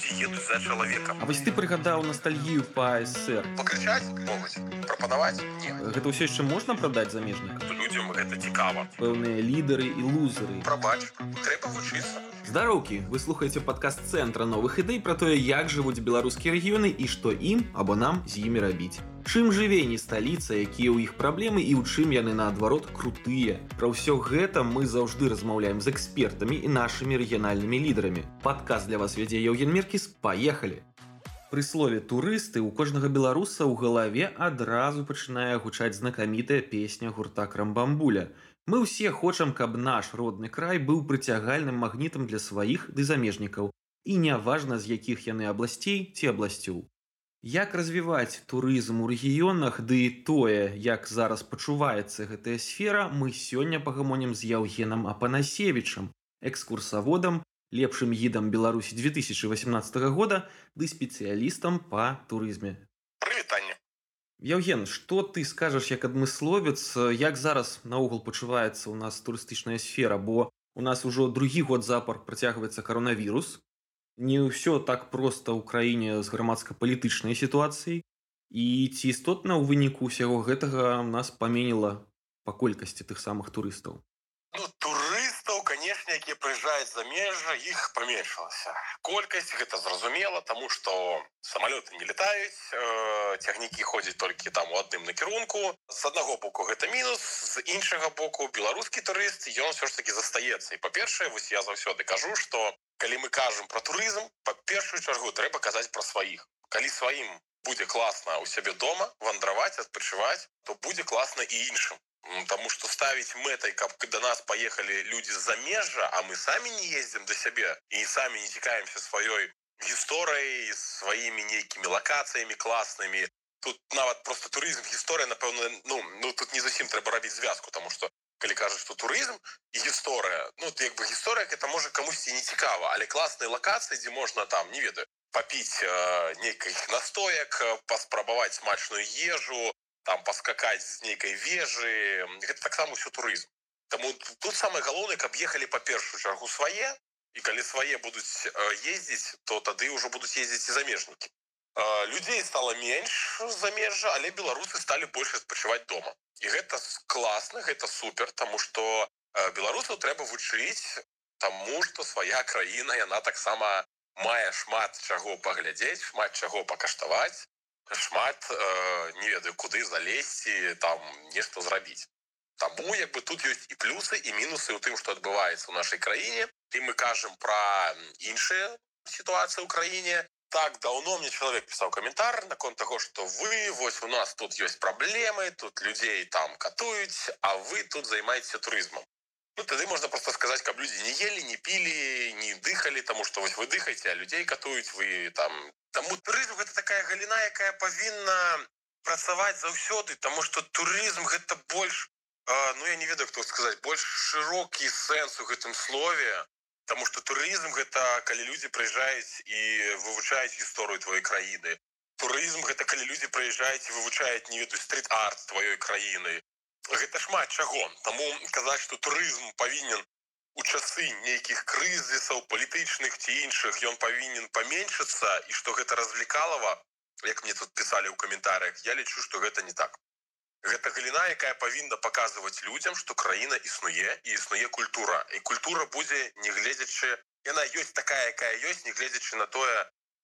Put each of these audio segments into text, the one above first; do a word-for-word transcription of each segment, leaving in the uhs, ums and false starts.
людзі едуць за чалавекам. А вось ты прыгадаў ностальгію па СССР. Пакрычаць могуць, прапанаваць не. Гэта ўсё яшчэ можна прадаць замежнікам? Людзям гэта цікава. Пэўныя лідары і лузеры. Прабач, трэба вучыцца. Здароўкі, вы слухаеце падкаст цэнтра новых ідэй пра тое, як жывуць беларускія рэгіёны і што ім або нам з імі рабіць. Чым жыве не сталіца, якія ў іх праблемы і ў чым яны, наадварот, крутыя. Пра ўсё гэта мы заўжды размаўляем з экспертамі і нашымі рэгіянальнымі лідарамі. Падкаст для вас вядзе Яўген Меркіс. Паехалі! Пры слове «турысты» у кожнага беларуса ў галаве адразу пачынае гучаць знакамітая песня гурта «Крамбамбуля». Мы ўсе хочам, каб наш родны край быў прыцягальным магнітам для сваіх ды замежнікаў. І няважна, з якіх яны абласцей ці абласцёў. Як развіваць турызм у рэгіёнах, ды тое, як зараз пачуваецца гэтая сфера, мы сёння пагамонім з Яўгенам Апанасевічам, экскурсаводам, лепшым гідам Беларусі две тысячи восемнадцатого года ды спецыялістам па турызме. Прывітанне. Яўген, што ты скажаш як адмысловец, як зараз наогул пачуваецца ў нас турыстычная сфера, бо у нас ужо другі год запар працягваецца каронавірус, не ўсё так проста ў краіне з грамадска-палітычнай сітуацыяй, і ці істотна ў выніку ўсяго гэтага нас паменіла па колькасці тых самых турыстаў? Ну, турыстаў, канешне, якія прыязджаюць за межа, іх паменшылася. Колькасць гэта зразумела, таму што самалёты не летаюць, э, цягнікі ходзяць толькі там у адным накірунку. З аднаго боку гэта мінус, з іншага боку беларускі турыст, ён ўсё ж такі застаецца. І па-першае, вось я заўсёды кажу, што калі мы кажам пра турызм, па першую чаргу трэба казаць пра сваіх. Калі сваім будзе класна ў сябе дома, вандраваць, адпачываць, то будзе класна і іншым. Таму што ставіць мэтай, каб да нас паехалі людзі з-за межа, а мы самі не ездзім да сябе і самі не цікаемся сваёй гісторыяй, сваімі нейкімі лакацыямі класнымі. Тут нават проста турызм, гісторыя, напэўна, ну, ну тут не зусім трэба рабіць звязку, таму што калі кажуць, што турызм і гісторыя, ну, то як бы гісторыя, гэта можа камусьці не цікава, але класныя лакацыі, дзе можна там, не ведаю, папіць э, нейкіх настоек, паспрабаваць смачную ежу, там паскакаць з нейкай вежы, гэта таксама ўсё турызм. Таму тут самае галоўнае, каб ехалі па першую чаргу свае, і калі свае будуць э, ездзіць, то тады ўжо будуць ездзіць і замежнікі. Э, людзей стала менш з замежжа, але беларусы сталі больш адпачываць дома. І гэта класна, гэта супер, таму што э, беларусаў трэба вучыць, таму што свая краіна, яна таксама мае шмат чаго паглядзець, шмат чаго пакаштаваць, шмат, э, не ведаю, куды залезці, там нешта зрабіць. Таму як бы тут ёсць і плюсы, і мінусы ў тым, што адбываецца ў нашай краіне. І мы кажам пра іншыя сітуацыі ў краіне. Так, даўно мне чалавек пісаў каментар наконт таго, што вы, вось у нас тут ёсць праблемы, тут людзей там катуюць, а вы тут займаецеся турызмам. Ну, тады можна проста сказаць, каб людзі не елі, не пілі, не дыхалі, таму што вось вы дыхаеце, а людзей катуюць, вы там... Таму турызм гэта такая галіна, якая павінна працаваць заўсёды, таму што турызм гэта больш, э, ну я не ведаю, хто сказаць, больш шырокі сэнс у гэтым слове. Таму што турызм гэта калі людзі прыязджаюць і вывучаюць гісторыю твоей краіны. Турызм гэта калі людзі прыязджаюць і вывучаюць, не ведаю, стрит-арт тваёй краіны. Гэта шмат чаго. Таму казаць, што турызм павінен у часы нейкіх крызісаў палітычных ці іншых, ён павінен паменшыцца, і што гэта развлекалава, як мне тут пісалі ў каментарыях, я лічу, што гэта не так. Гэта галіна, якая павінна паказваць людзям, што краіна існуе і існуе культура. І культура будзе, не гледзячы, яна ёсць такая, якая ёсць, не гледзячы на тое,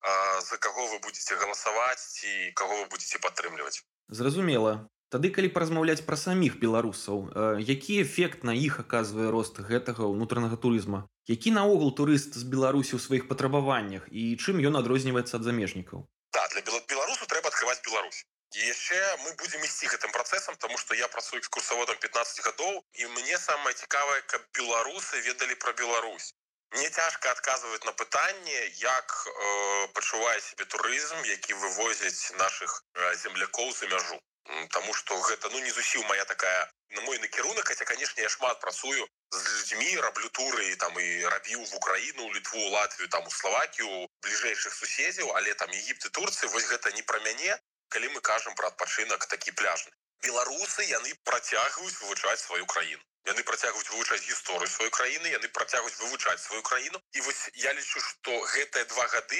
за каго вы будзеце галасаваць ці каго вы будзеце падтрымліваць. Зразумела. Тады, калі паразмаўляць пра саміх беларусаў, э, які эфект на іх аказвае рост гэтага ўнутранага турызма? Які наогул турыст з Беларусі ў сваіх патрабаваннях і чым ён адрозніваецца ад замежнікаў? Да, для беларусу трэба адкрываць Беларусь. І яшчэ мы будзем ісці гэтым працэсам, таму што я працую экскурсаводам пятнаццаць гадоў, і мне самае цікавае, каб беларусы ведалі пра Беларусь. Мне цяжка адказваць на пытанне, як э, пачувае сябе турызм, які вывозяць нашых э, землякоў за мяжу. Таму што гэта, ну, не зусім моя такая, на мой накірунак, хаця, канешне, я шмат працую з людзьмі, раблю туры, там, і рабіў в Украіну, Літву, Латвію, там, у Славакію, бліжэйшых суседзяў, але там Егіпет і Турцыя, вось гэта не пра мяне, калі мы кажам пра адпачынак такі пляжны. Беларусы, яны працягваюць вывучаць сваю краіну. Яны працягваюць вывучаць гісторыю сваёй краіны, яны працягваюць вывучаць сваю краіну. І вось я лічу, што гэтыя два гады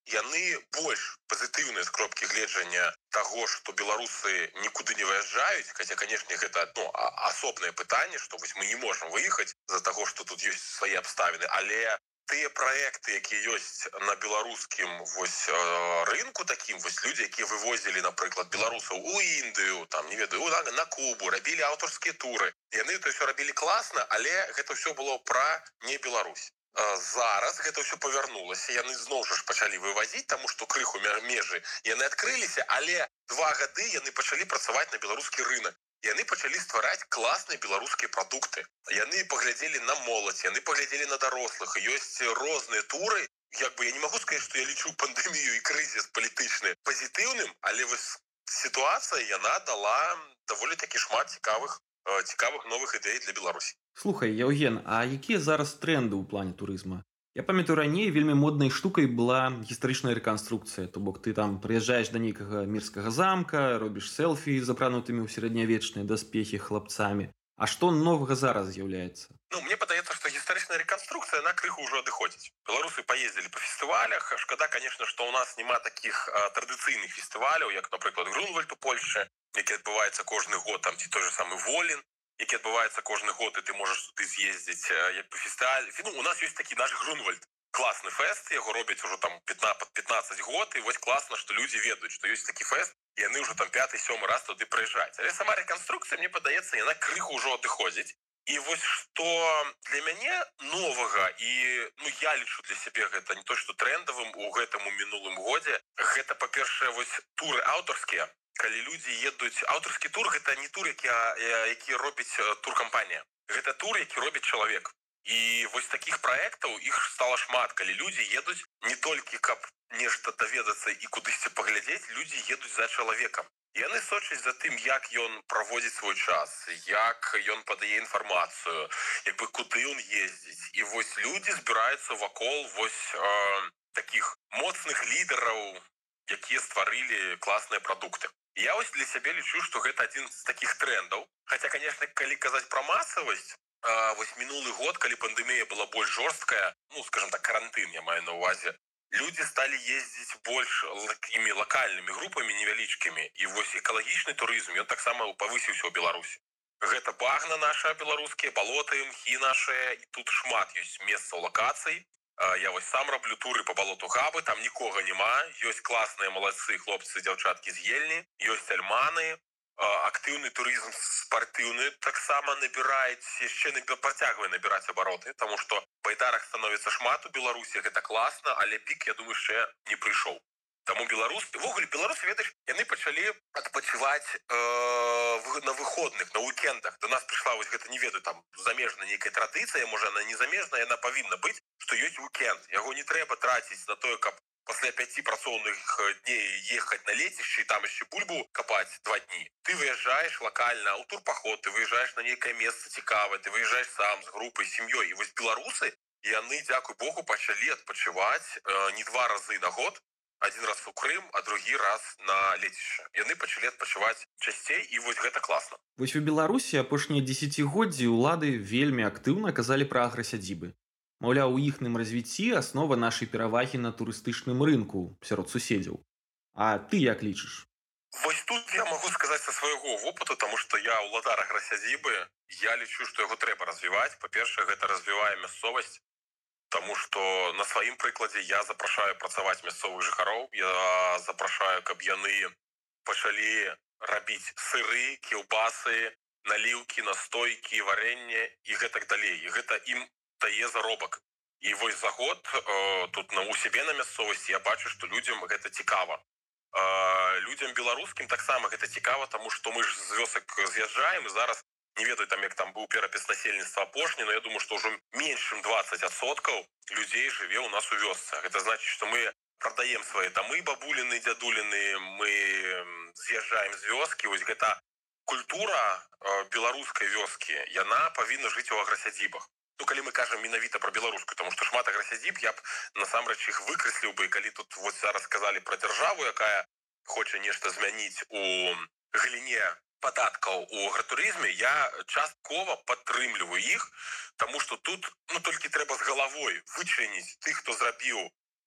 яны больш пазітыўныя з кропкі гледжання таго, што беларусы нікуды не выязджаюць, хаця, канешне, гэта ну, асобнае пытанне, што вось мы не можам выехаць з-за таго, што тут ёсць свае абставіны, але тыя праекты, якія ёсць на беларускім вось рынку такім, вось людзі, якія вывозілі, напрыклад, беларусаў у Індыю, там, не ведаю, на, на Кубу, рабілі аўтарскія туры. Яны то ўсё рабілі класна, але гэта ўсё было пра не Беларусь. Зараз гэта ўсё павярнулася, яны зноў жа ж пачалі вывазіць, таму што крыху межы яны адкрыліся, але два гады яны пачалі працаваць на беларускі рынок. Яны пачалі ствараць класныя беларускія прадукты. Яны паглядзелі на моладзь, яны паглядзелі на дарослых. Ёсць розныя туры. Як бы я не магу сказаць, што я лічу пандэмію і крызіс палітычны пазітыўным, але вось сітуацыя яна дала даволі такі шмат цікавых цікавых новых ідэй для Беларусі. Слухай, Яўген, а якія зараз тренды ў плане турызма? Я памятаю, раней вельмі моднай штукай была гістарычная рэканструкцыя, то бок ты там прыязджаеш да нейкага мірскага замка, робіш селфі з апранутымі ў сярэднявечныя даспехі хлапцамі. А што новага зараз з'яўляецца? Ну, мне падаецца, што гістарычная рэканструкцыя, яна крыху ўжо адыходзіць. Беларусы паездзілі па фестывалях. Шкада, канешне, што ў нас няма такіх а, традыцыйных фестываляў, як, напрыклад, Грунвальд у Польшчы, які адбываецца кожны год, там ці той же самы Волін, які адбываецца кожны год, і ты можаш туды з'ездзіць як па фестываль. Ну, у нас ёсць такі наш Грунвальд. Класны фэст, яго робяць ужо там пятнаццаць год, і вось класна, што людзі ведаюць, што ёсць такі фэст, і яны ўжо там пяты сёмы раз туды прыязджаюць. Але сама рэканструкцыя, мне падаецца, яна крыху ўжо адыходзіць. І вось што для мяне новага, і ну, я лічу для сябе гэта не то, што трендавым у гэтым у мінулым годзе, гэта, па-першае, вось туры аўтарскія. Калі людзі едуць, аўтарскі тур гэта не тур, які, які робіць туркампанія. Гэта тур, які робіць чалавек. І вось такіх праектаў іх стала шмат, калі людзі едуць не толькі каб нешта даведацца і кудысьці паглядзець, людзі едуць за чалавекам. Яны сочаць за тым, як ён праводзіць свой час, як ён падае інфармацыю, як бы куды ён ездзіць. І вось людзі збіраюцца вакол вось э, такіх моцных лідараў, якія стварылі класныя прадукты. Я вось для сябе лічу, што гэта адзін з такіх трендаў. Хаця, канешне, калі казаць пра масавасць, э, вось минулый год, калі пандемія была больш жорсткая, ну, скажем так, карантын я маю на увазе, людзі сталі ездзіць больш такімі лакальнымі групамі невялічкімі. І вось экалагічны турызм, ён таксама павысіўся ў Беларусі. Гэта багна наша беларускія, балоты, мхі нашыя, і тут шмат ёсць месцаў лакацый. Я вось сам раблю туры по балоту Габы, там нікога няма, ёсць класныя малайцы, хлопцы, дзяўчаткі з Ельні, ёсць альманы, актыўны турызм спартыўны таксама набіраюць, яшчэ працягвае набіраць абароты, таму што байдарак становіцца шмат у Беларусі, гэта класна, але пік, я думаю, яшчэ не прыйшоў. Таму беларусы, ввогуле беларусы, ведаеш, яны пачалі адпачываць э, на выходных, на уикендах. До нас прыйшла вось гэта, не ведаю, там замежная нейкая традыцыя, можа она не замежная, яна павінна быць, што ёсць уикенд. Яго не трэба траціць на тое, каб пасля пяці працоўных дней ехаць на лецішча і там яшчэ бульбу капаць два дні. Ты выязджаеш лакальна ў турпаход, ты выязджаеш на нейкае месца цікавае, ты выязджаеш сам з групай, сям'ёй. І вось беларусы, яны, дзякуй Богу, пачалі адпачываць э, не два разы на год, один раз у Крым, а другі раз на лецішча. Яны пачалі адпачываць часцей, і вось гэта класна. Вось у Беларусі апошнія дзесяцігоддзі ўлады вельмі актыўна казалі пра аграсядзібы. Маўляў, у іхным развіцці аснова нашай перавагі на турыстычным рынку сярод суседзяў. А ты як лічыш? Вось тут я магу сказаць са свайго вопыту, таму што я ўладар аграсядзібы. Я лічу, што яго трэба развіваць. Па-першае, гэта развівае мясцовасць, таму што на сваім прыкладзе я запрашаю працаваць мясцовых жыхароў. Я запрашаю, каб яны пачалі рабіць сыры, кілбасы, наліўкі, настойкі, варэнне і гэтак далей. І гэта ім дае заробак. І вось за год э, тут на у сябе на мясцовасці я бачу, што людзям гэта цікава. Э, людзям беларускім таксама гэта цікава, таму што мы ж з вёсак з'язджаем, і зараз не ведаю, там як там быў перапіс насельніцтва апошні, но я думаю, што ўжо менш чым дваццаць адсоткаў людзей жыве ў нас у вёсцы. Гэта значыць, што мы прадаем свае дамы, бабуліны, дзядуліны, мы з'язджаем з вёскі. Вось гэта культура э, беларускай вёскі, яна павінна жыць у аграсядзібах. Ну, калі мы кажам менавіта пра беларускую, таму што шмат аграсядзіб, я б насамрэч іх выкрэсліў бы, калі тут вось зараз сказалі пра дзяржаву, якая хоча нешта змяніць у галіне падаткаў у агратурызме, я часткова падтрымліваю іх, таму што тут ну, толькі трэба з галавой вычыніць тых, хто зрабіў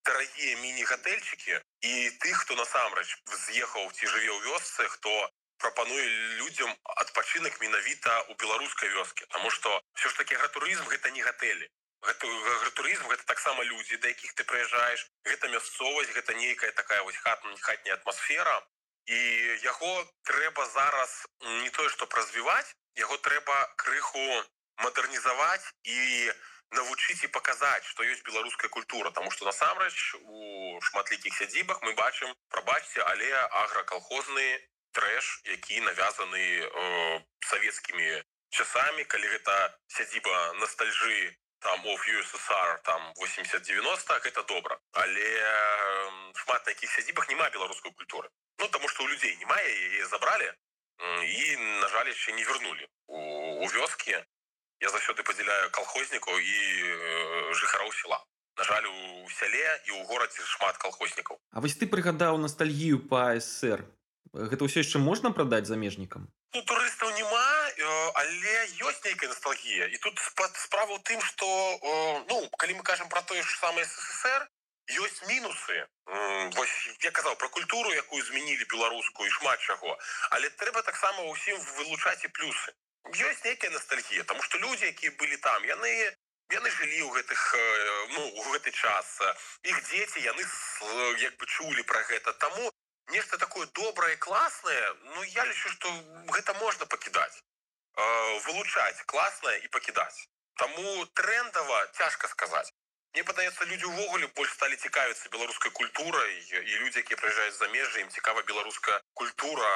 дарагія міні-гатэльчыкі і тых, хто насамрэч з'ехаў ці жыве ў вёсцы, хто прапануе людзям адпачынак менавіта ў беларускай вёскі. Таму што ўсё ж такі агратурызм гэта не гатэлі. Агратурызм гэта таксама людзі, да якіх ты прыязджаеш, гэта мясцовасць, гэта нейкая такая вось хатняя атмасфера. І яго трэба зараз не тое, што развіваць, яго трэба крыху мадэрнізаваць і навучыць і паказаць, што ёсць беларуская культура. Таму што насамрэч у шматлікіх сядзібах мы бачым, прабачце, але агракалхозны трэш, які навязаны э, савецкімі часамі, калі гэта сядзіба ностальжы там of ю эс эс ар там восемьдесят девяносто, гэта добра. Але э, шмат на якіх сядзібах няма беларускай культуры. Ну, таму што ў людзей няма, яе забралі і, на жаль, яшчэ не вярнулі у, у вёскі. Я заўсёды падзяляю калхознікаў і э, жыхароў села. На жаль, у сяле і ў горадзе шмат калхознікаў. А вось ты прыгадаў ностальгію па эс эс эр. Гэта ўсё яшчэ можна прадаць замежнікам? Ну, турыстаў няма, але ёсць нейкая ностальгія. І тут справа ў тым, што, ну, калі мы кажам пра тое ж самае эс эс эс эр, ёсць мінусы. Вось я казаў пра культуру, якую змянілі беларускую і шмат чаго. Але трэба таксама ўсім вылучаць і плюсы. Ёсць нейкая ностальгія, таму што людзі, якія былі там, яны яны жылі ў гэтых, ну, у гэты час. Іх дзеці, яны як бы чулі пра гэта. Таму нешта такое добрае, класнае, ну, я лічу, што гэта можна пакідаць. Вылучаць класнае і пакідаць. Таму трендава цяжка сказаць. Мне падаецца, людзі ўвогуле больш сталі цікавіцца беларускай культурай, і людзі, якія прыязджаюць з замежжа, ім цікава беларуская культура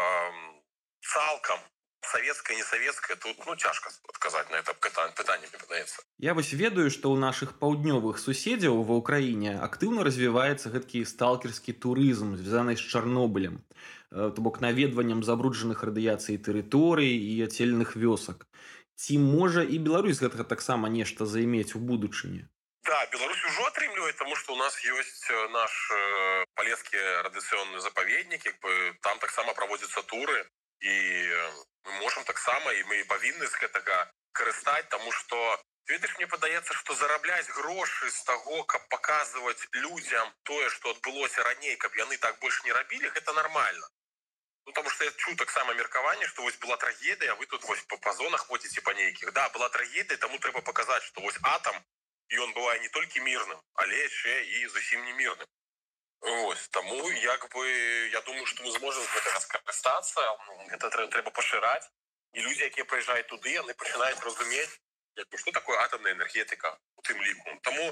цалкам. Савецкая, не савецкая, тут, ну, цяжка адказаць на это пытанне, мне падаецца. Я вось ведаю, што ў нашых паўднёвых суседзяў ва ўкраіне актыўна развіваецца гэткі сталкерскі турызм, звязаны з Чарнобылем, то бок наведваннем забруджаных радыяцыяй тэрыторый і ацельных вёсак. Ці можа і Беларусь гэтага таксама нешта займець у будучыні? Да, Беларусь ужо атрымлівае, таму што ў нас ёсць наш э, палескі радыацыйны запаведнік, як бы там таксама праводзяцца туры, і мы можам таксама, і мы павінны з гэтага карыстаць, таму што, ведаеш, мне падаецца, што зарабляць грошы з таго, каб паказваць людзям тое, што адбылося раней, каб яны так больш не рабілі, гэта нармальна. Ну, таму што я чуў таксама меркаванне, што вось была трагедыя, а вы тут вось па, па зонах ходзіце па нейкіх. Да, была трагедыя, таму трэба паказаць, што вось атам, і ён бывае не толькі мірным, але яшчэ і зусім не мірным. Вось, таму, як бы, я думаю, што мы зможам з гэтага скарыстацца, гэта трэба, трэба пашыраць, і людзі, якія прыязджаюць туды, яны пачынаюць разумець, як бы, што такое атамная энергетыка у тым ліку. Таму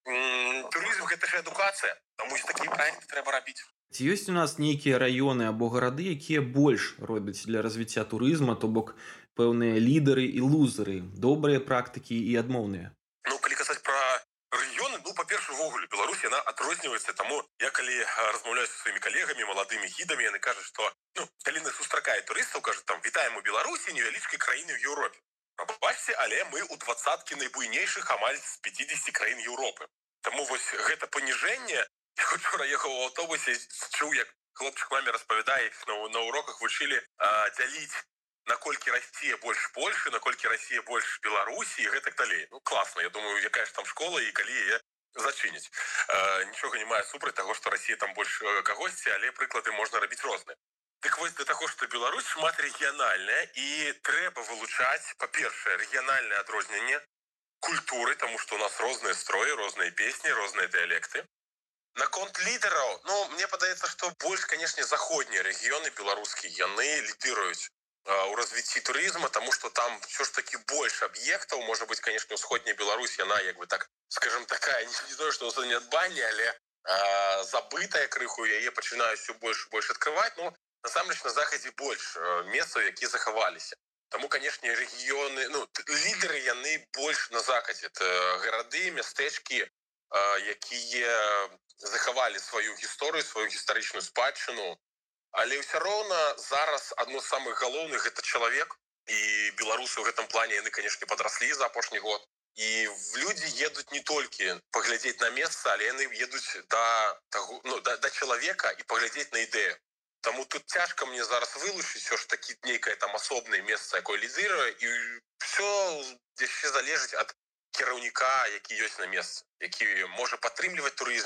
м- турызм гэта ж адукацыя, таму і такія праекты трэба рабіць. Ці ёсць у нас нейкія раёны або гарады, якія больш робяць для развіцця турызма, то бок пэўныя лідары і лузеры, добрыя практыкі і адмоўныя? Ну, калі казаць пра рэгіёны, ну, па-першае, увогуле, Беларусь, яна адрозніваецца, таму я калі размаўляю са сваімі калегамі, маладымі гідамі, яны кажуць, што, ну, калі нас сустракае турыстаў, кажуць, там, вітаем у Беларусі, невялічкай краіны ў Еўропе. Пабачце, але мы ў двадцаткі найбуйнейшых амаль з пяцідзесяці краін Еўропы. Таму вось гэта паніжэнне, я учора ехаў у аўтобусе, чуў, як хлопчык маме распавядае, як на, на уроках вучылі а, дзяліць, наколькі Расія больш Польшы, наколькі Расія больш Беларусі і гэтак далей. Ну, класна, я думаю, якая ж там школа і калі яе зачыніць. Э, нічога не мае супраць таго, што Расія там больш кагосьці, але прыклады можна рабіць розныя. Дык вось да таго, што Беларусь шмат рэгіянальная, і трэба вылучаць, па-першае, рэгіянальнае адрозненне культуры, таму што у нас розныя строі, розныя песні, розныя дыялекты. Наконт лідараў, ну, мне падаецца, што больш, канешне, заходнія рэгіёны беларускія, яны лідыруюць у развіцці турызма, таму што там ўсё ж такі больш аб'ектаў, можа быць, канешне, усходняя Беларусь, яна, як бы так, скажем, такая, не, не знаю, што ў нядбанне, але а, забытая крыху, яе пачынаюць усё больш і больш адкрываць, ну, насамрэч, на захадзе больш месцаў, якія захаваліся. Таму, канешне, рэгіёны, ну, лідары, яны больш на захадзе. Это гарады, мястэчкі, а, якія захавалі сваю гісторыю, сваю гістарычную спадчыну. Але ўсё роўна зараз адно з самых галоўных гэта чалавек, і беларусы ў гэтым плане яны, канешне, падраслі за апошні год. І людзі едуць не толькі паглядзець на месца, але яны едуць да, таго, ну, да, да чалавека і паглядзець на ідэю. Таму тут цяжка мне зараз вылучыць ўсё ж такі нейкае там асобнае месца, якое лідыруе, і ўсё яшчэ залежыць ад кіраўніка, які ёсць на месцы, які можа падтрымліваць турызм,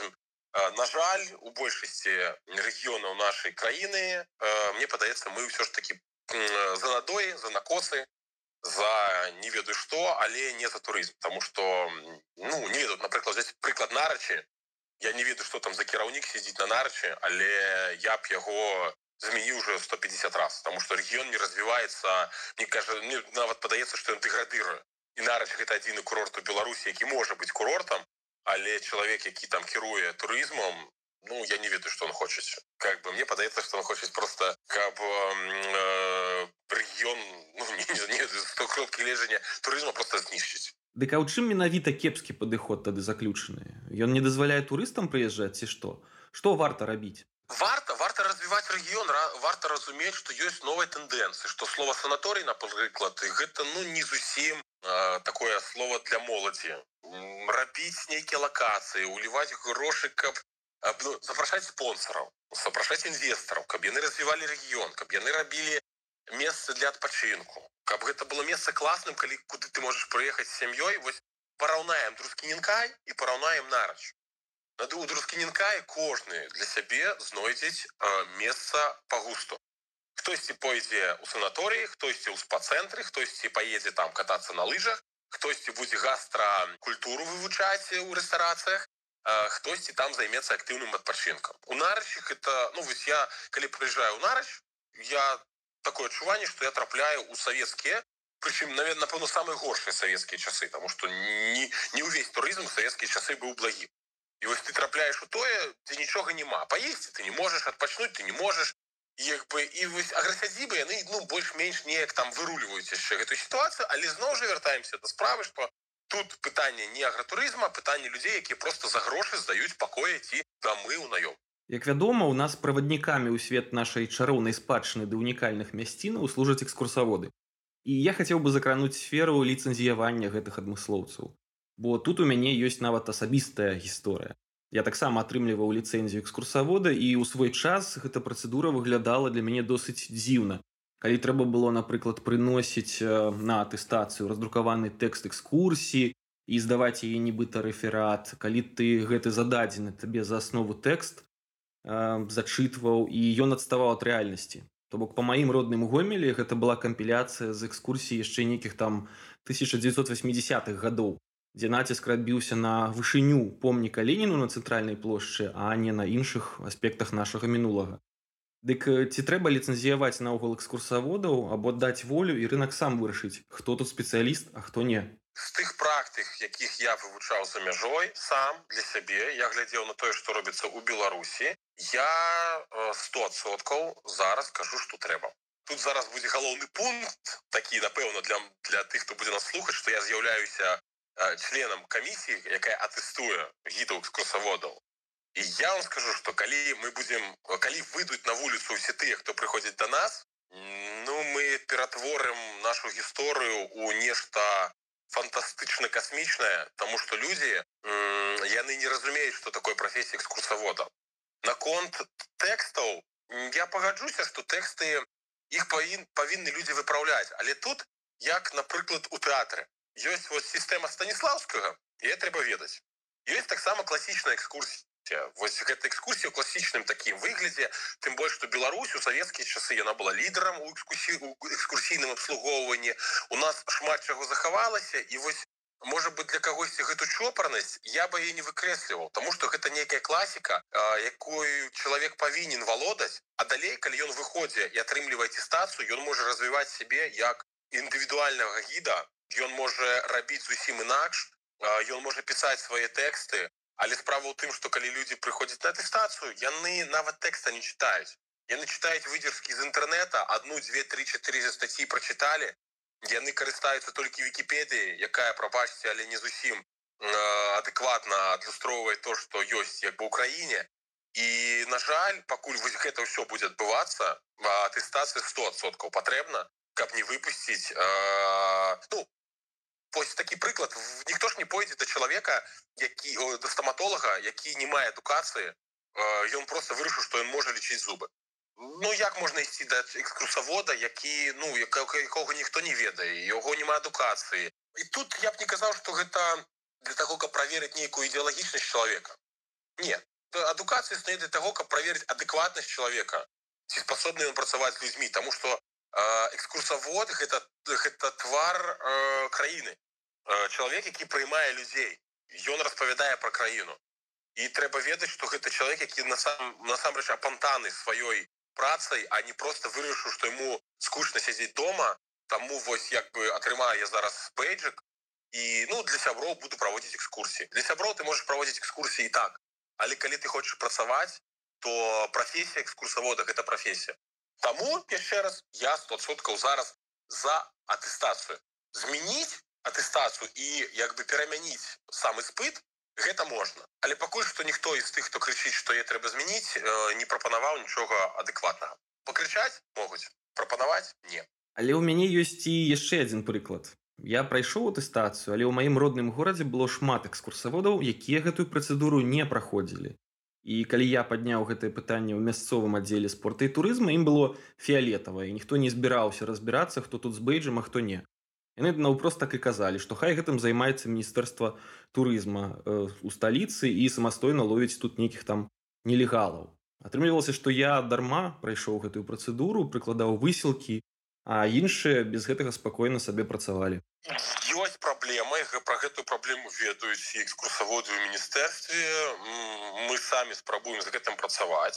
На жаль, у большасці рэгіёнаў нашай краіны, мне падаецца, мы ўсё ж такі за надоі, за накосы, за не ведаю што, але не за турызм. Таму што, ну, не ведаю, напрыклад, взяць прыклад Нарачы. Я не ведаю, што там за кіраўнік сядзіць на Нарачы, але я б яго змяніў уже сто пятьдесят раз, таму што рэгіён не развіваецца, мне кажа, мне нават падаецца, што ён дэградыруе. І Нарач гэта адзіны курорт у Беларусі, які можа быць курортам, але чалавек, які там кіруе турызмам, ну, я не ведаю, што он хоча. Как бы мне падаецца, што он хоча проста, каб э, рэгіён, ну, не, не, не сто кропкі лежання турызма проста знішчыць. Дык а ў чым менавіта кепскі падыход тады заключаны? Ён не дазваляе турыстам прыязджаць ці што? Што варта рабіць? Варта, варта развіваць рэгіён, варта разумець, што ёсць новыя тэндэнцыі, што слова санаторый, напрыклад, гэта, ну, не зусім э, такое слово для моладзі. Рабіць нейкія лакацыі, уліваць грошы, каб э, ну, запрашаць спонсораў, запрашаць інвестараў, каб яны развівалі рэгіён, каб яны рабілі месцы для адпачынку, каб гэта было месца класным, калі куды ты можаш прыехаць з сям'ёй. Вось параўнаем Друскінінкай і параўнаем Нарач. На Друскінінкай кожны для сябе знойдзець э, месца па густу. Хтосьці пойдзе ў санаторыі, хтосьці ў спа-цэнтры, хтосьці паедзе там катацца на лыжах, хтосьці будзе гастракультуру вывучаць у рэстарацыях, э, хтосьці там займецца актыўным адпачынкам. У Нарачы гэта, ну вось я, калі прыязджаю ў Нарач, я такое адчуванне, што я трапляю ў савецкія, прычым, напэўна, самыя горшыя савецкія часы, таму што не, не ўвесь турызм у савецкія часы быў благім. І вось ты трапляеш у тое, дзе нічога няма. Паесці ты не можаш, адпачнуць ты не можаш. І, як бы, і вось аграсядзібы, яны, ну, больш-менш неяк там выруліваюць яшчэ гэтую сітуацыю, але зноў жа вяртаемся да справы, што тут пытанне не агратурызма, пытанне людзей, якія проста за грошы здаюць пакоі ці дамы ў наём. Як вядома, у нас праваднікамі ў свет нашай чароўнай спадчыны да унікальных мясцінаў служаць экскурсаводы. І я хацеў бы закрануць сферу ліцэнзіявання гэтых адмыслоўцаў. Бо тут у мяне ёсць нават асабістая гісторыя. Я таксама атрымліваў ліцэнзію экскурсавода, і ў свой час гэта працэдура выглядала для мяне досыць дзіўна. Калі трэба было, напрыклад, прыносіць на атэстацыю раздрукаваны тэкст экскурсіі і здаваць яе нібыта рэферат, калі ты гэты зададзены табе за аснову тэкст э, зачытваў, і ён адставаў ад рэальнасці. То бок, па маім родным Гомелі гэта была кампіляцыя з экскурсій яшчэ нейкіх там тысяча дзевяцьсот васьмідзесятых гадоў, дзе націск адбіўся на вышыню помніка Леніну на цэнтральнай плошчы, а не на іншых аспектах нашага мінулага. Дык ці трэба ліцэнзіяваць наогул экскурсаводаў, або даць волю і рынак сам вырашыць, хто тут спецыяліст, а хто не? З тых практык, якіх я вывучаў за мяжой сам для сябе, я глядзеў на тое, што робіцца ў Беларусі, я сто адсоткаў зараз кажу, што трэба. Тут зараз будзе галоўны пункт, такі, напэўна, для, для тых, хто будзе нас слухаць, што я з'яўляюся членам камісіі, якая атэстуе гідаў экскурсаводаў. І я вам скажу, што калі мы будзем, калі выйдуць на вуліцу ўсе тыя, хто прыходзіць да нас, ну, мы ператворым нашу гісторыю ў нешта фантастычна-касмічнае, таму што людзі, яны не разумеюць, што такое прафесія экскурсавода. Наконт тэкстаў, я пагаджуся, што тэксты, іх павін, павінны людзі выпраўляць, але тут, як, напрыклад, у тэатры. Ёсць вот сістэма Станіслаўскага, яе трэба ведаць. Ёсць таксама класічная экскурсія. Вось гэта экскурсія ў класічным такім выглядзе, тым больш, што Беларусь у савецкія часы яна была лідарам у экскурсійным абслугоўванні. У нас шмат чаго захавалася, і вось, можа быць, для кагосьці гэту чопарнасць я бы яе не выкрэсліваў, таму што гэта нейкая класіка, якую чалавек павінен валодаць, а далей, калі ён выходзе і атрымлівае атэстацыю, ён можа развіваць сябе як індывідуальнага гіда, ён можа рабіць зусім інакш, ён можа пісаць свае тэксты, але справа ў тым, што калі людзі прыходзяць на атэстацыю, яны нават тэкста не чытаюць. Яны чытаюць выдзержкі з інтэрнэта, адну, дзве, тры, чатыры статьі прачыталі, яны карыстаюцца толькі Вікіпедыяй, якая, прабачце, але не зусім адэкватна адлюстроўвае то, што ёсць як бы ў краіне. І, на жаль, пакуль гэта ўсё будзе адбывацца, атэстацыя сто адсоткаў патрэбна, каб не выпусціць, э, ну, вось такі прыклад, ніхто ж не пойдзе да чалавека, які, о, да стаматолага, які не мае адукацыі, э, ён проста вырашыў, што ён можа лічыць зубы. Ну, як можна ісці да экскурсавода, які, ну, якога ніхто не ведае, яго няма адукацыі. І тут я б не казаў, што гэта для таго, каб праверыць нейкую ідэалагічнасць чалавека. Не. адукацыя існуе для таго, каб праверыць адэкватнасць чалавека, ці спасобны ён працаваць з людзьмі, таму што э, экскурсавод гэта, гэта твар э, краіны. Э, чалавек, які прыймае людзей, ён распавядае пра краіну. І трэба ведаць, што гэта чалавек, які насам, насамрэч апантаны сваёй працай, а не проста вырашыў, што яму скучна сядзець дома, таму вось як бы атрымаю я зараз бейджик, і ну, для сяброў буду праводзіць экскурсіі. Для сяброў ты можаш праводзіць экскурсіі і так, але калі ты хочаш працаваць, то прафесія экскурсавода гэта прафесія. Таму, яшчэ раз, я сто адсоткаў зараз за атэстацыю. Змяніць атэстацыю і як бы перамяніць сам іспыт, гэта можна. Але пакуль што ніхто з тых, хто крычыць, што яе трэба змяніць, не прапанаваў нічога адэкватнага. Пакрычаць могуць, прапанаваць не. Але ў мяне ёсць і яшчэ адзін прыклад. Я прайшоў атэстацыю, але ў маім родным горадзе было шмат экскурсаводаў, якія гэтую працэдуру не праходзілі. І калі я падняў гэтае пытанне ў мясцовым аддзеле спорта і турызма, ім было фіялетава, і ніхто не збіраўся разбірацца, хто тут з бейджам, а хто не. Яны наўпрост так і казалі, што хай гэтым займаецца міністэрства турызма э, у сталіцы і самастойна ловіць тут нейкіх там нелегалаў. Атрымлівалася, што я дарма прайшоў гэтую працэдуру, прыкладаў высілкі, а іншыя без гэтага спакойна сабе працавалі. Ёсць праблема, пра гэтую праблему ведаюць і экскурсаводы ў міністэрстве. Мы самі спрабуем з гэтым працаваць.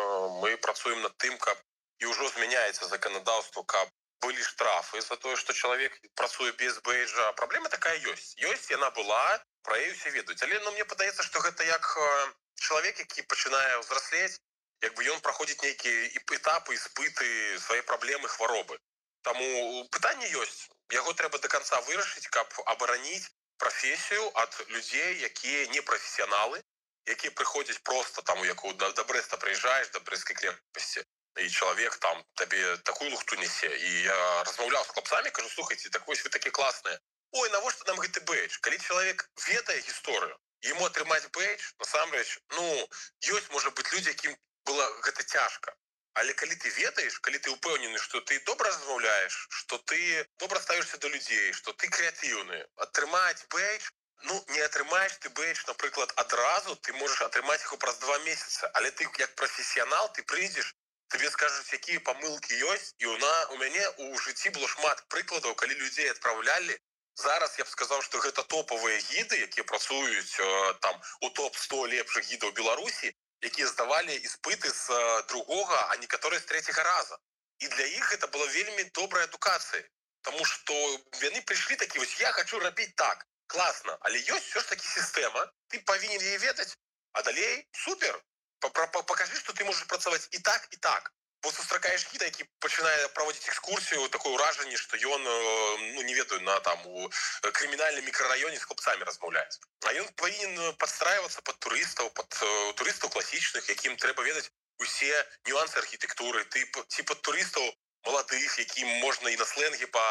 Мы працуем над тым, каб і ўжо змяняецца заканадаўства, каб былі штрафы за тое, што чалавек працуе без бейджа. Праблема такая ёсць. Ёсць, яна была, пра яе ўсе ведаюць. Але ну, мне падаецца, што гэта як чалавек, які пачынае ўзраслець, як бы ён праходзіць нейкія этапы, іспыты, свае праблемы, хваробы. Таму пытанне ёсць. Яго трэба до конца вырашыць, каб абараніць прафесію ад людзей, якія не прафесіяналы, якія прыходзяць проста там, як да Брэста прыязджаеш, да Брэсцкай крэпасці, і чалавек там табе такую лухту нясе. І я размаўляў з хлопцамі, кажу, слухайце, так вось вы такі класныя. Ой, навошта нам гэты бейдж? Калі чалавек ведае гісторыю, яму атрымаць бейдж, насамрэч, ну, ёсць, можа быць, людзі, якім было гэта цяжка. Але калі ты ведаеш, калі ты ўпэўнены, што ты добра размаўляеш, што ты добра ставішся да людзей, што ты крэатыўны, атрымаць бейдж, ну, не атрымаеш ты бейдж, напрыклад, адразу, ты можаш атрымаць яго праз два месяцы, але ты як прафесіянал, ты прыйдзеш, тебе скажуць, якія памылкі ёсць, і una, у мяне у жыцці было шмат прыкладаў, калі людзей адпраўлялі. Зараз я б сказаў, што гэта топавыя гіды, якія працуюць там у топ сто лепшых гідаў Беларусі, якія здавалі іспыты з другога, а некаторыя з трэцяга раза. І для іх гэта была вельмі добрая адукацыя. Таму што яны прыйшлі такі, вось я хачу рабіць так, класна, але ёсць ўсё ж такі сістэма, ты павінен яе ведаць, а далей супер. Пакажы, што ты можаш працаваць і так, і так. Бо сустракаеш гіда, які пачынае праводзіць экскурсію, такое ўражанне, што ён, ну, не ведаю, на там у крымінальным мікрараёне з хлопцамі размаўляць. А ён павінен падстрайвацца пад турыстаў, пад турыстаў класічных, якім трэба ведаць усе нюансы архітэктуры, ты ці пад турыстаў маладых, якім можна і на сленгі па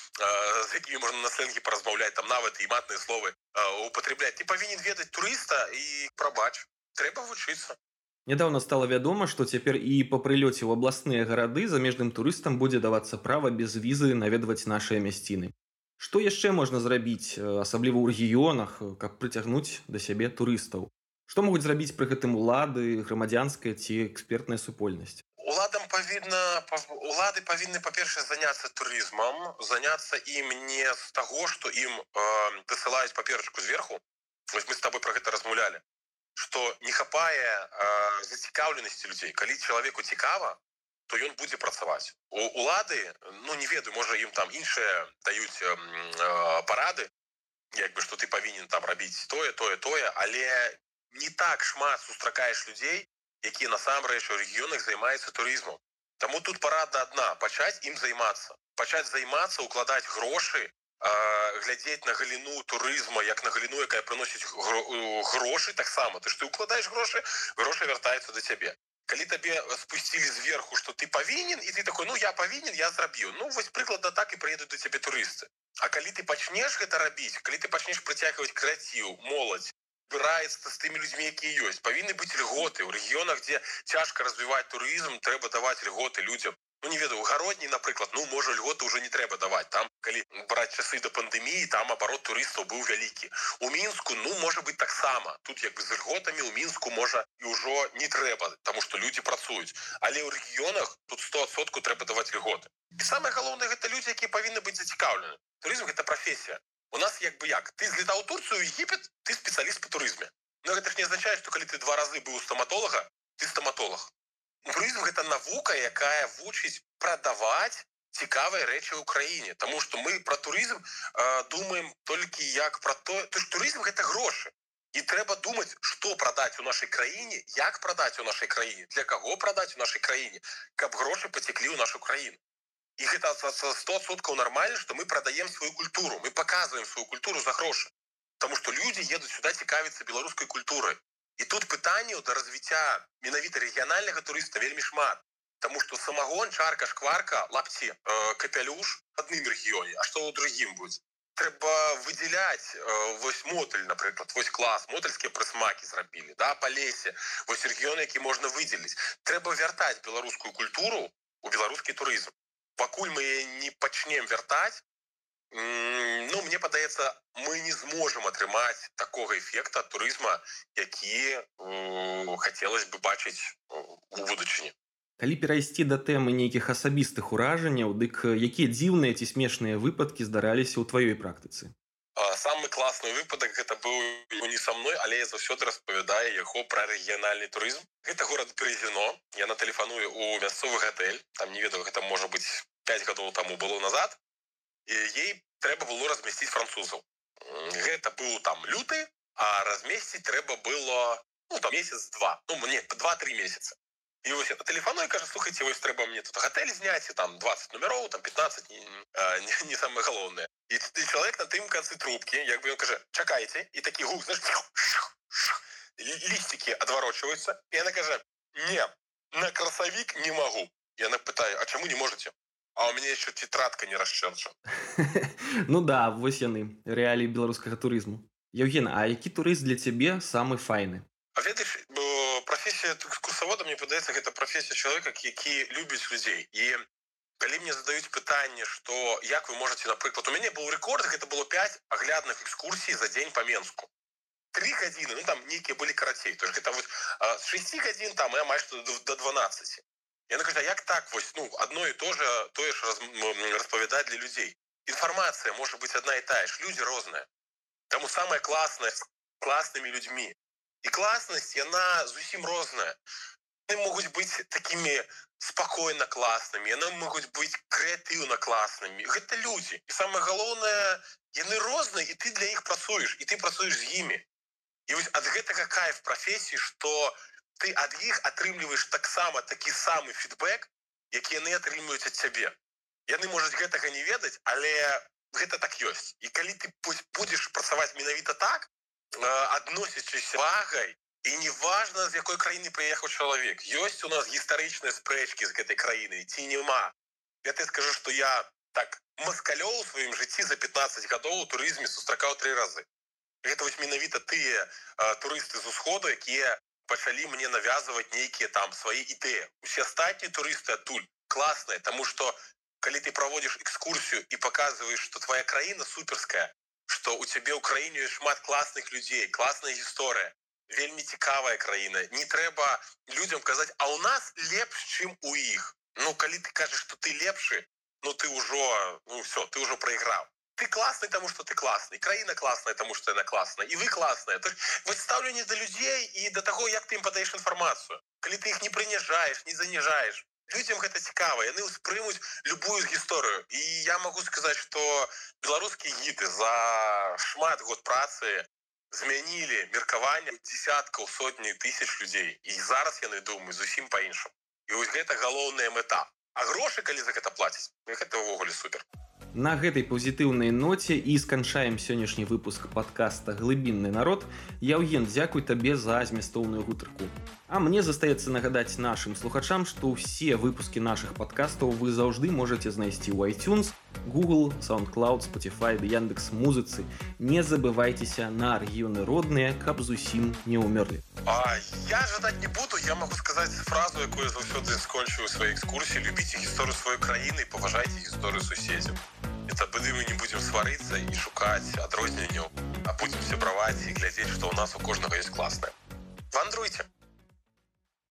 з якімі можна на сленгі паразмаўляць, там нават і матныя словы употребляць. Ты павінен ведаць турыста і прабач, трэба вучыцца. Нядаўна стала вядома, што цяпер і па прылёце ў абласныя гарады замежным турыстам будзе давацца права без візы наведваць нашыя мясціны. Што яшчэ можна зрабіць, асабліва ў рэгіёнах, каб прыцягнуць да сябе турыстаў? Што могуць зрабіць пры гэтым улады, грамадзянская ці экспертная супольнасць? Уладам павінна, улады павінны, па-першае, заняцца турызмам, заняцца ім не з таго, што ім э, дасылаюць паперачку зверху. Вось мы з табой пра гэта размаўлялі. Што не хапае э, зацікаўленасці людзей. Калі чалавеку цікава, то ён будзе працаваць. У улады, ну не ведаю, можа ім там іншыя даюць э, э, парады, як бы, што ты павінен там рабіць тое, тое, тое, але не так шмат сустракаеш людзей, якія насамрэч у рэгіёнах займаюцца турызмам. Таму тут парада адна, пачаць ім займацца. Пачаць займацца, укладаць грошы, глядзець на галіну турызма, як на галіну, якая прыносіць грошы таксама. Ты ж ты укладаеш грошы, грошы вяртаюцца да цябе. Калі табе спусцілі зверху, што ты павінен, і ты такой, ну я павінен, я зрабіў. Ну вось прыкладна так і прыедуць да цябе турысты. А калі ты пачнеш гэта рабіць, калі ты пачнеш прыцягваць крэатыў, моладзь, збіраецца з тымі людзьмі, якія ёсць, павінны быць льготы. У рэгіёнах, дзе цяжка развіваць турызм, трэба даваць льготы людзям. Ну, не ведаю, у гародні, наприклад, ну, можа, льготы ўжо не трэба даваць. Там, калі браць часы да пандэміі, там абарот турыстаў быў вялікі. У Мінску, ну, можа быць таксама. Тут як бы з льготамі ў Мінску, можа, і ўжо не трэба, таму што людзі працуюць. Але ў рэгіёнах тут сто адсоткаў трэба даваць льготы. І самае галоўнае, гэта людзі, якія павінны быць зацікаўлены. Турызм – гэта прафесія. У нас як бы як? Ты злетаў у Турцыю, Егіпет, ты спецыяліст па турызме. Но гэта ж не азначае, што калі ты два разы быў у стаматолага, ты стаматолог. Турызм – гэта навука, якая вучыць прадаваць цікавыя рэчы ў краіне. Таму што мы пра турызм э, думаем толькі як пра то... То ж турызм – гэта грошы. І трэба думаць, што прадаць у нашай краіне, як прадаць у нашай краіне, для каго прадаць у нашай краіне, каб грошы пацеклі ў нашу краіну. І гэта сто адсоткаў нармальна, што мы прадаем сваю культуру, мы паказваем сваю культуру за грошы. Таму што людзі едуць сюда цікавіцца беларускай культурай. І тут пытанняў да развіцця менавіта рэгіянальнага турыста вельмі шмат. Таму што самагон, чарка, шкварка, лапці, э, капялюш в адным рэгіёне, а што ў другім будзе? Трэба выдзяляць э, вось мотыль, напрыклад, вось клас, мотыльскія прысмакі зрабілі, да, па лесе, вось рэгіёны, які можна выдзеліць. Трэба вяртаць беларускую культуру ў беларускі турызм. Пакуль мы не пачнем вяртаць, ну, мне падаецца, мы не зможам атрымаць такога эфекта ад турызма, які хацелось бы бачыць у будучыні. Калі перайсці да тэмы нейкіх асабістых уражанняў, дык якія дзіўныя ці смешныя выпадкі здараліся ў тваёй практыцы? Самы класны выпадак гэта быў не са мной, але я заўсёды распавядаю яго пра рэгіянальны турызм. Гэта горад Березіно. Яна тэлефаную ў мясцовы гатэль. Там, не ведаю, гэта можа быць пяць гадоў таму было назад. І ей трэба было размясціць французаў. Гэта быў там люты, а размесціць трэба было, ну, там месяц-два. Ну, мне два-тры месяца. І вось я тэлефаную і кажа, слухайце, вось трэба мне тут гатэль зняць, і там дваццаць нумероў, там пятнаццаць, не, не, не самае галоўнае. І, і чалавек на тым канцы трубкі, як бы ён кажа, чакайце, і такі гук, знаеш, лісцікі адварочваюцца, і яна кажа, не, на красавік не магу. Яна пытае, а чаму не можаце? А у мяне яшчэ тетрадка не расчэрчана. Ну да, вось яны, рэаліі беларускага турызму. Яўген, а які турызм для цябе самы файны? А ведаеш, прафесія экскурсавода, мне падаецца, гэта прафесія чалавека, які любіць людзей. І калі мне задаюць пытанне, што як вы можаце, напрыклад, у мяне быў рэкорд, гэта было пяць аглядных экскурсій за дзень па Менску. Тры гадзіны, ну там нейкія былі карацей. То есть гэта вось з шасці гадзін там і амаль што да дванаццаці. Яна кажа, як так вось, ну, адно і то же, тое ж раз, распавядаць для людзей. Інфармацыя можа быць адна і тая ж, людзі розныя. Таму самае класнае з класнымі людзьмі. І класнасць, яна зусім розная. Яны могуць быць такімі спакойна класнымі, яны могуць быць крэатыўна класнымі. Гэта людзі. І самае галоўнае, яны розныя, і ты для іх працуеш, і ты працуеш з імі. І вось ад гэтага кайф прафесіі, што ты ад іх атрымліваеш таксама такі самы фідбэк, які яны атрымліваюць ад цябе. Яны можуць гэтага не ведаць, але гэта так ёсць. І калі ты будзеш працаваць менавіта так, адносячыся вагай, і неважна, з якой краіны прыехаў чалавек. Ёсць у нас гістарычныя спрэчкі з гэтай краіны, ці няма. Я ты скажу, што я так маскалёў у сваім жыцці за пятнаццаць гадоў у турызме сустракаў тры разы. Гэта вось менавіта тыя а, турысты з усходу, якія пачалі мне навязваць нейкія там свае ідэі. Усе астатнія турысты адтуль класныя, таму што калі ты праводзіш экскурсію і паказваеш, што твая краіна суперская, што у цябе ў краіне ёсць шмат класных людзей, класная гісторыя, вельмі цікавая краіна. Не трэба людзям казаць, а ў нас лепш, чым у іх. Ну, калі ты кажаш, што ты лепшы, ну ты ўжо, ну все, ты ўжо прайграў. Ты класны, таму што ты класны, краіна класная, таму што яна класная, і вы класная. То есть, вось стаўленне да людзей і да таго, як ты ім падаеш інфармацыю. Калі ты іх не прыніжаеш, не заніжаеш, людзям гэта цікава, яны ўспрымуць любую гісторыю. І я магу сказаць, што беларускія гіды за шмат год працы змянілі меркаванне дзесяткаў, сотні тысяч людзей. І зараз яны думаюць зусім па-іншаму. І вось гэта галоўная мэта. А грошы, калі за гэта плаціць, гэта ўвогуле супер. На гэтай пазітыўнай ноце і сканчаем сённяшні выпуск падкаста «Глыбінны народ». Яўген, дзякуй табе за змястоўную гутарку. А мне застаецца нагадаць нашым слухачам, што ўсе выпускі нашых падкастаў вы заўжды можаце знайсці ў iTunes, Google, SoundCloud, Spotify, Яндекс.Музыцы. Не забывайцеся на рэгіёны родныя, каб зусім не ўмерлі. А я жадаць не буду, я могу сказаць фразу, якую я заўсёды скончыў у сваёй экскурсіі: любіце гісторыю сваёй краіны і паважайце гісторыю суседзяў. І тады мы не будзем сварыцца і шукаць адрозненняў, а будзем сябраваць і глядзець, што ў нас у кожнага ёсць класнае. Вандруйце!